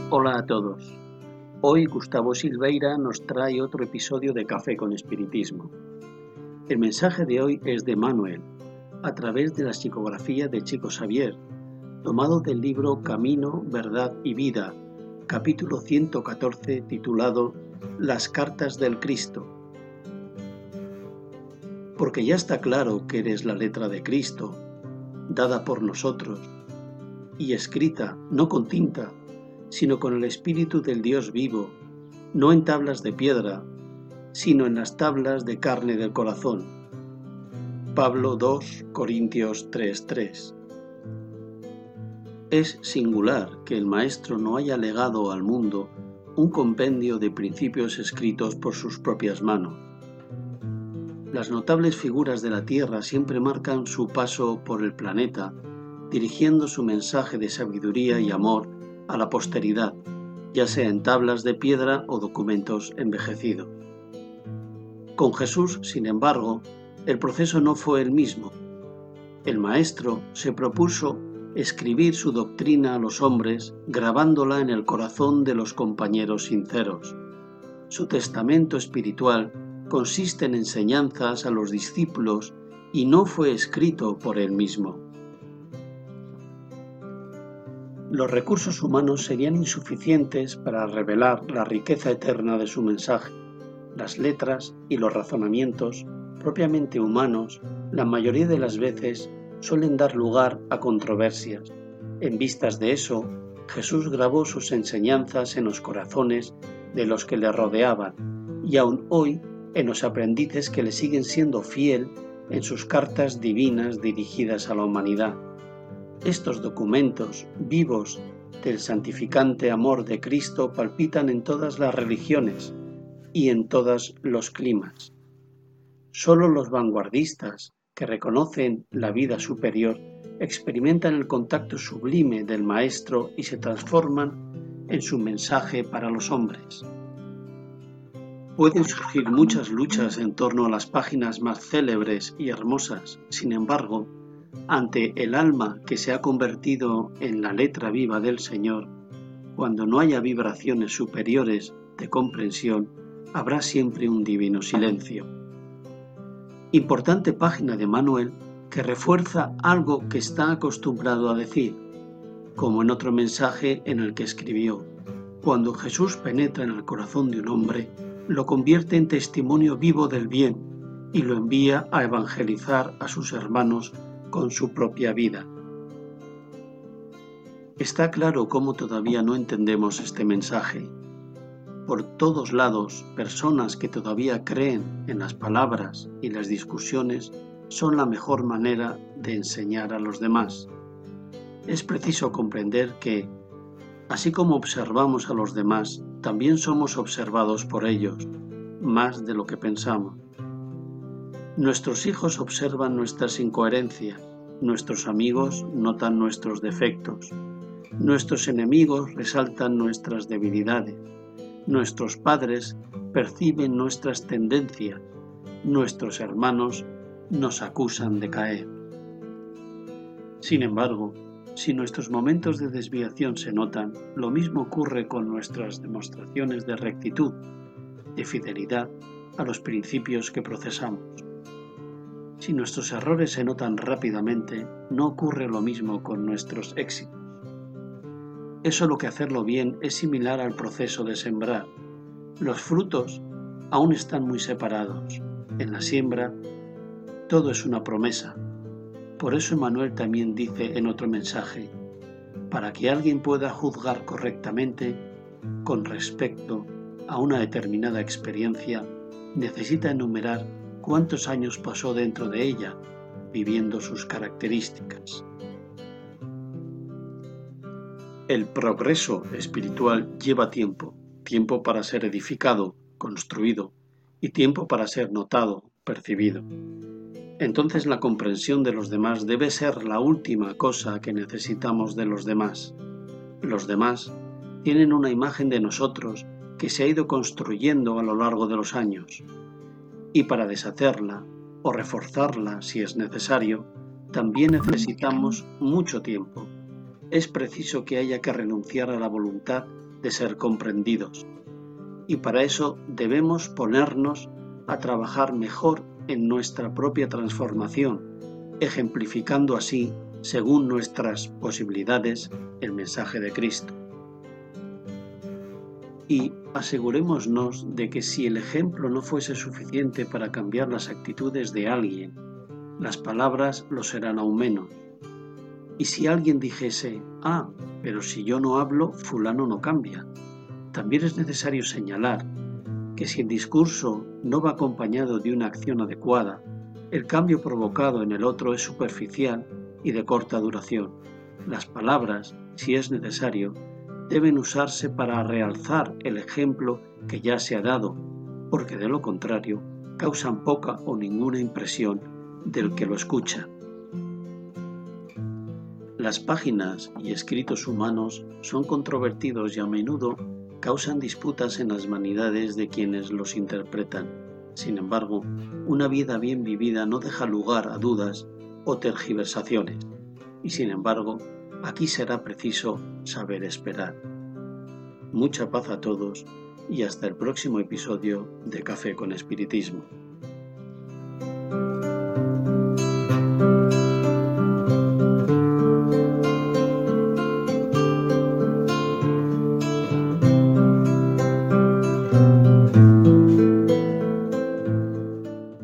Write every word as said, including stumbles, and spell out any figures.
Hola a todos. Hoy Gustavo Silveira nos trae otro episodio de Café con Espiritismo. El mensaje de hoy es de Manuel, a través de la psicografía de Chico Xavier, tomado del libro Camino, Verdad y Vida, capítulo ciento catorce, titulado Las cartas del Cristo. Porque ya está claro que eres la letra de Cristo, dada por nosotros, y escrita no con tinta, sino con el Espíritu del Dios vivo, no en tablas de piedra, sino en las tablas de carne del corazón. Pablo dos Corintios tres tres. Es singular que el Maestro no haya legado al mundo un compendio de principios escritos por sus propias manos. Las notables figuras de la Tierra siempre marcan su paso por el planeta, dirigiendo su mensaje de sabiduría y amor a la posteridad, ya sea en tablas de piedra o documentos envejecidos. Con Jesús, sin embargo, el proceso no fue el mismo. El Maestro se propuso escribir su doctrina a los hombres, grabándola en el corazón de los compañeros sinceros. Su testamento espiritual consiste en enseñanzas a los discípulos y no fue escrito por él mismo. Los recursos humanos serían insuficientes para revelar la riqueza eterna de su mensaje. Las letras y los razonamientos, propiamente humanos, la mayoría de las veces suelen dar lugar a controversias. En vistas de eso, Jesús grabó sus enseñanzas en los corazones de los que le rodeaban y aún hoy en los aprendices que le siguen siendo fiel en sus cartas divinas dirigidas a la humanidad. Estos documentos vivos del santificante amor de Cristo palpitan en todas las religiones y en todos los climas. Solo los vanguardistas que reconocen la vida superior experimentan el contacto sublime del Maestro y se transforman en su mensaje para los hombres. Pueden surgir muchas luchas en torno a las páginas más célebres y hermosas, sin embargo, ante el alma que se ha convertido en la letra viva del Señor, cuando no haya vibraciones superiores de comprensión, habrá siempre un divino silencio. Importante página de Manuel que refuerza algo que está acostumbrado a decir, como en otro mensaje en el que escribió: cuando Jesús penetra en el corazón de un hombre, lo convierte en testimonio vivo del bien y lo envía a evangelizar a sus hermanos con su propia vida. Está claro cómo todavía no entendemos este mensaje. Por todos lados, personas que todavía creen en las palabras y las discusiones son la mejor manera de enseñar a los demás. Es preciso comprender que, así como observamos a los demás, también somos observados por ellos, más de lo que pensamos. Nuestros hijos observan nuestras incoherencias, nuestros amigos notan nuestros defectos, nuestros enemigos resaltan nuestras debilidades, nuestros padres perciben nuestras tendencias, nuestros hermanos nos acusan de caer. Sin embargo, si nuestros momentos de desviación se notan, lo mismo ocurre con nuestras demostraciones de rectitud, de fidelidad a los principios que procesamos. Si nuestros errores se notan rápidamente, no ocurre lo mismo con nuestros éxitos. Es solo que hacerlo bien es similar al proceso de sembrar. Los frutos aún están muy separados. En la siembra, todo es una promesa. Por eso Manuel también dice en otro mensaje: para que alguien pueda juzgar correctamente con respecto a una determinada experiencia, necesita enumerar cuántos años pasó dentro de ella, viviendo sus características. El progreso espiritual lleva tiempo, tiempo para ser edificado, construido, y tiempo para ser notado, percibido. Entonces la comprensión de los demás debe ser la última cosa que necesitamos de los demás. Los demás tienen una imagen de nosotros que se ha ido construyendo a lo largo de los años. Y para deshacerla o reforzarla si es necesario, también necesitamos mucho tiempo. Es preciso que haya que renunciar a la voluntad de ser comprendidos. Y para eso debemos ponernos a trabajar mejor en nuestra propia transformación, ejemplificando así, según nuestras posibilidades, el mensaje de Cristo. Y asegurémonos de que si el ejemplo no fuese suficiente para cambiar las actitudes de alguien, las palabras lo serán aún menos. Y si alguien dijese, ah, pero si yo no hablo, fulano no cambia, también es necesario señalar que si el discurso no va acompañado de una acción adecuada, el cambio provocado en el otro es superficial y de corta duración. Las palabras, si es necesario, deben usarse para realzar el ejemplo que ya se ha dado, porque de lo contrario causan poca o ninguna impresión del que lo escucha. Las páginas y escritos humanos son controvertidos y a menudo causan disputas en las vanidades de quienes los interpretan. Sin embargo, una vida bien vivida no deja lugar a dudas o tergiversaciones, y sin embargo, aquí será preciso saber esperar. Mucha paz a todos y hasta el próximo episodio de Café con Espiritismo.